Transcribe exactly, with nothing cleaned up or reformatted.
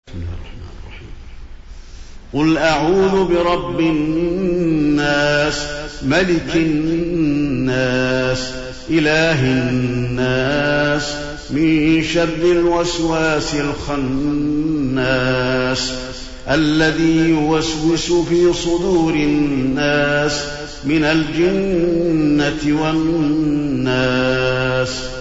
قل أعوذ برب الناس ملك الناس إله الناس من شر الوسواس الخناس الذي يوسوس في صدور الناس من الجنة والناس.